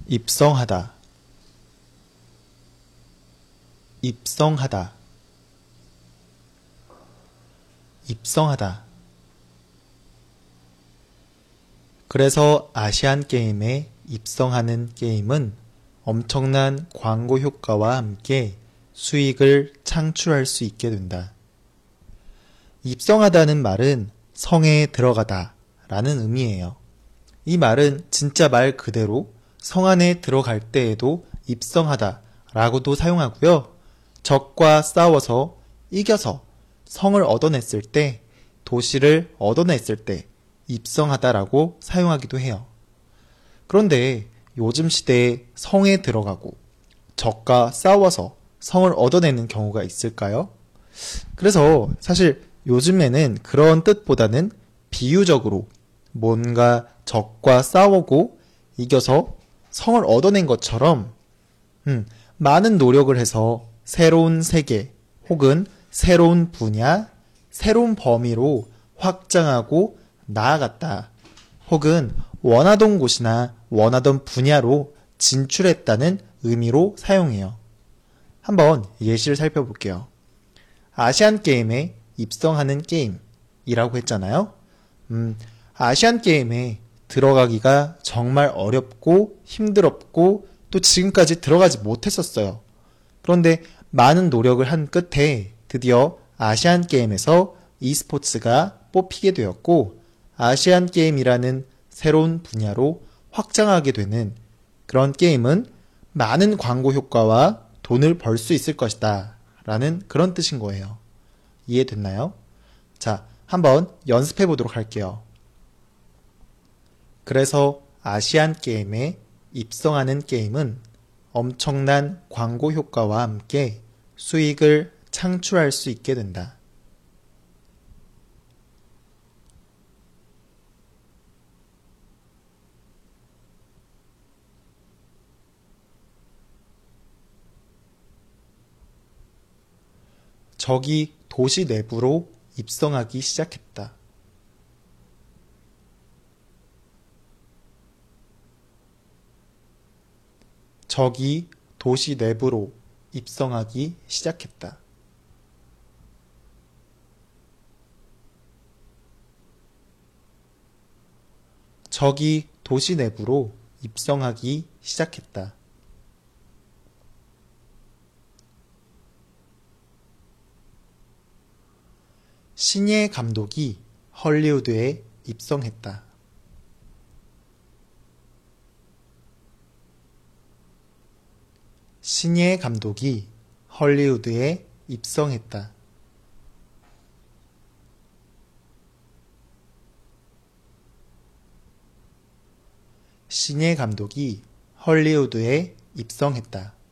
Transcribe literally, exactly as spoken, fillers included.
입성하다, 입성하다, 입성하다. 그래서 아시안게임에 입성하는 게임은 엄청난 광고 효과와 함께 수익을 창출할 수 있게 된다. 입성하다는 말은 성에 들어가다 라는 의미예요. 이 말은 진짜 말 그대로 성 안에 들어갈 때에도 입성하다 라고도 사용하고요. 적과 싸워서 이겨서 성을 얻어냈을 때, 도시를 얻어냈을 때 입성하다 라고 사용하기도 해요. 그런데 요즘 시대에 성에 들어가고 적과 싸워서 성을 얻어내는 경우가 있을까요? 그래서 사실 요즘에는 그런 뜻보다는 비유적으로 뭔가 적과 싸우고 이겨서 성을 얻어낸 것처럼 음, 많은 노력을 해서 새로운 세계 혹은 새로운 분야, 새로운 범위로 확장하고 나아갔다. 혹은 원하던 곳이나 원하던 분야로 진출했다는 의미로 사용해요. 한번 예시를 살펴볼게요. 아시안게임에 입성하는 게임이라고 했잖아요. 음, 아시안게임에 들어가기가 정말 어렵고 힘들었고 또 지금까지 들어가지 못했었어요. 그런데 많은 노력을 한 끝에 드디어 아시안게임에서 e스포츠가 뽑히게 되었고 아시안게임이라는 새로운 분야로 확장하게 되는 그런 게임은 많은 광고 효과와 돈을 벌 수 있을 것이다 라는 그런 뜻인 거예요. 이해됐나요? 자, 한번 연습해 보도록 할게요. 그래서 아시안게임에 입성하는 게임은 엄청난 광고 효과와 함께 수익을 창출할 수 있게 된다. 적이 도시 내부로 입성하기 시작했다. 적이 도시 내부로 입성하기 시작했다. 적이 도시 내부로 입성하기 시작했다. 신예 감독이 헐리우드에 입성했다. 신예 감독이 헐리우드에 입성했다. 신예 감독이 헐리우드에 입성했다.